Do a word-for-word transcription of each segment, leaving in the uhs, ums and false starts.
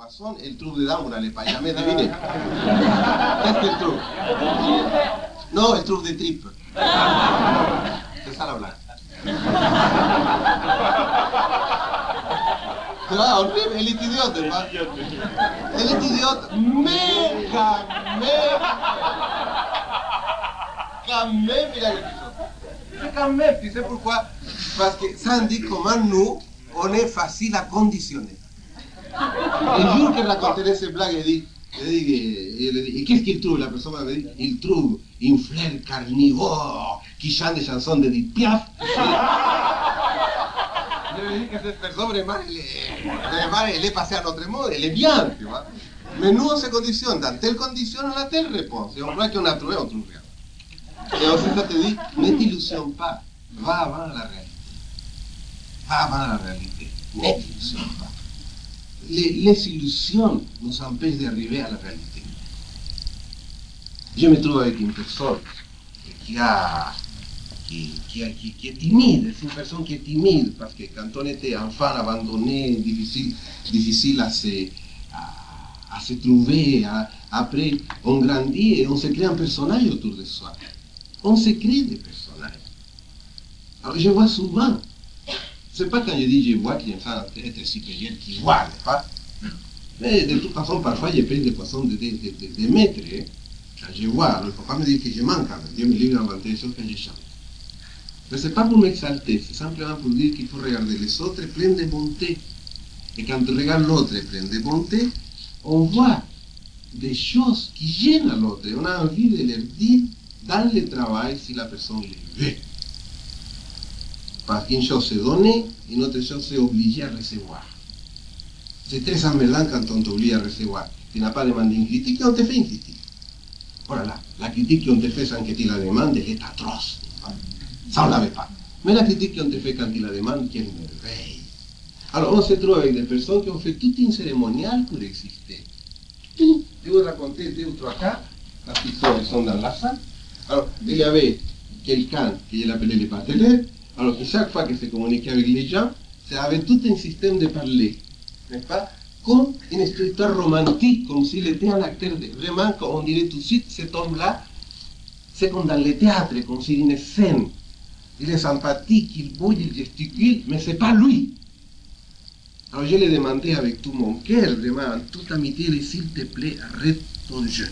poisson et il trouve dedans, vous n'allez pas jamais deviner. Qu'est-ce qu'il trouve? Non, il trouve des tripes. C'est ça la blague. Tu vois, horrible, elle est idiote, pas? Elle est idiote, mais quand même, quand même, il y a quelque chose. C'est quand même, tu sais pourquoi? Parce que ça indique comment nous, on est facile à conditionner. Le jour que raconterai ces blagues, il dit, il dit, il dit, et qu'est-ce qu'il trouve? La personne m'a dit, il trouve une fleur carnivore qui chante des chansons de Edith Piaf. Je lui dis que cette personne, vraiment, elle est, vraiment, elle est passée à notre monde, elle est bien, tu vois. Mais nous, on se conditionne. Dans telle condition, on a telle réponse. Et on croit qu'on a trouvé, on trouve rien. Et ensuite, ça te dit, ne t'illusionne pas. Va avant la réalité. Va avant la réalité. Ne t'illusionne pas. Les, les illusions nous empêchent d'arriver à la réalité. Je me trouve avec une personne qui a... Qui, qui, qui, qui est timide, c'est une personne qui est timide, parce que quand on était enfant abandonné, difficile, difficile à se, à, à se trouver, à, après on grandit et on se crée un personnage autour de soi. On se crée des personnages. Alors je vois souvent, c'est pas quand je dis je vois qu'il y a une femme être supérieure qui voit, n'est-ce pas? Mais de toute façon, parfois j'ai pris des poissons de, de, de, de, de maître, hein? Quand je vois, alors il ne faut pas me dire que je manque quand même. Dieu me livre d'inventer des choses quand je chante. Mais ce n'est pas pour m'exalter, c'est simplement pour dire qu'il faut regarder les autres pleins de bonté. Et quand on regarde l'autre plein de bonté, on voit des choses qui gênent à l'autre. On a envie de leur dire dans le travail si la personne les veut. Parce qu'une chose c'est donner, une autre chose c'est obliger à recevoir. C'est très emmêlant quand on t'oblige à recevoir. Tu n'as pas demandé une critique et on te fait une critique. Voilà, la critique qu'on te fait sans que tu la demandes, elle est atroce. Ça, on ne l'avait pas. Mais la critique qu'on te fait quand tu la demandes, quelle merveille. Alors, on se trouve avec des personnes qui ont fait toute une cérémoniale pour exister. Tout. Je vais vous raconter deux ou trois cas, parce qu'ils sont, sont dans la salle. Alors, il y avait quelqu'un qui l'appelait le bateleur. Alors, chaque fois qu'il se communiquait avec les gens, ça avait tout un système de parler. N'est-ce pas? Comme une histoire romantique, comme s'il était un acteur. De... Vraiment, on dirait tout de suite, cet homme-là, c'est comme dans le théâtre, comme s'il une scène. Il est sympathique, il bouge, il gesticule, mais ce n'est pas lui. Alors je l'ai demandé avec tout mon cœur, vraiment, en toute amitié, et s'il te plaît, arrête ton jeu.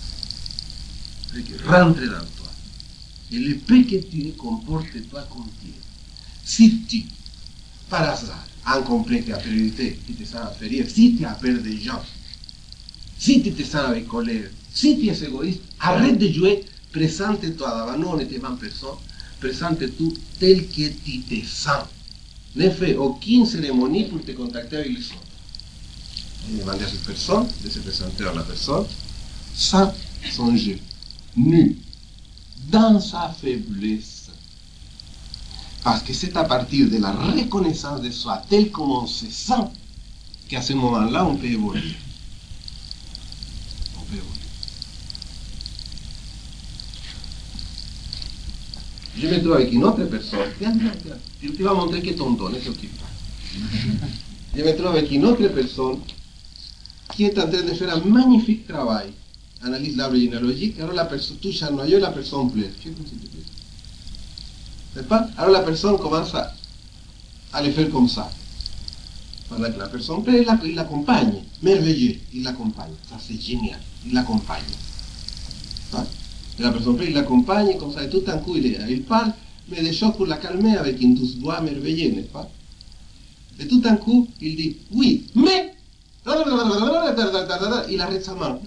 Rentre dans toi. Et le peu que tu es, comporte-toi comme tu es. Si tu, par hasard, en complexe d'infériorité, tu te sens inférieur, si tu as peur des gens, si tu te sens avec colère, si tu es égoïste, arrête de jouer, présente-toi devant nous, on était vingt personnes, présente-toi tel que tu te sens. Ne fais aucune cérémonie pour te contacter avec les autres. Il demandait à cette personne de se présenter à la personne sans son jeu, nu, dans sa faiblesse. Parce que c'est à partir de la reconnaissance de soi, tel comme on se sent, qu'à ce moment-là, on peut évoluer. On peut évoluer. Je me trouve avec une autre personne. Viens, viens, viens. Tu te vas montrer que ton don ne s'occupe pas. Je me trouve avec une autre personne qui est en train de faire un magnifique travail. Analyse l'arbre généalogique. Alors la personne touche un noyau et la personne pleure. N'est-ce pas? Alors la personne commence à, à le faire comme ça. Pendant que la personne pleure, il l'accompagne. Merveilleux, il l'accompagne. Ça c'est génial. Il l'accompagne. Hein? Et la personne il l'accompagne, comme ça, et tout d'un coup, il, il parle, mais des choses pour la calmer avec une douce voix merveilleuse, n'est-ce pas? Et tout d'un coup, il dit, oui, mais... Il arrête sa main.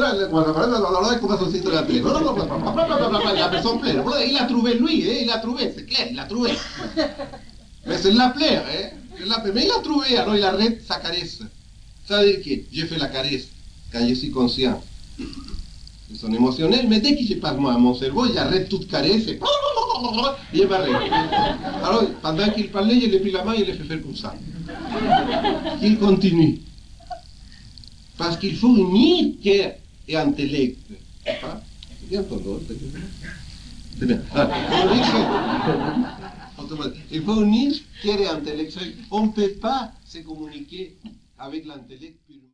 La personne pleure. Il a trouvé lui, hein, il a trouvé, c'est clair, il a trouvé. Mais c'est la pleure, hein? Mais il a trouvé, alors il arrête sa caresse. Ça veut dire que j'ai fait la caresse quand je suis conscient. Ils sont émotionnels, mais dès que je passe moi à mon cerveau, j'arrête toute caresse et je m'arrête. Alors, pendant qu'il parlait, je l'ai pris la main et je l'ai fait faire comme ça. Il continue. Parce qu'il faut unir cœur et intellect. C'est bien ton dos, c'est bien. Il faut unir cœur et intellect. On ne peut pas se communiquer avec l'intellect purement.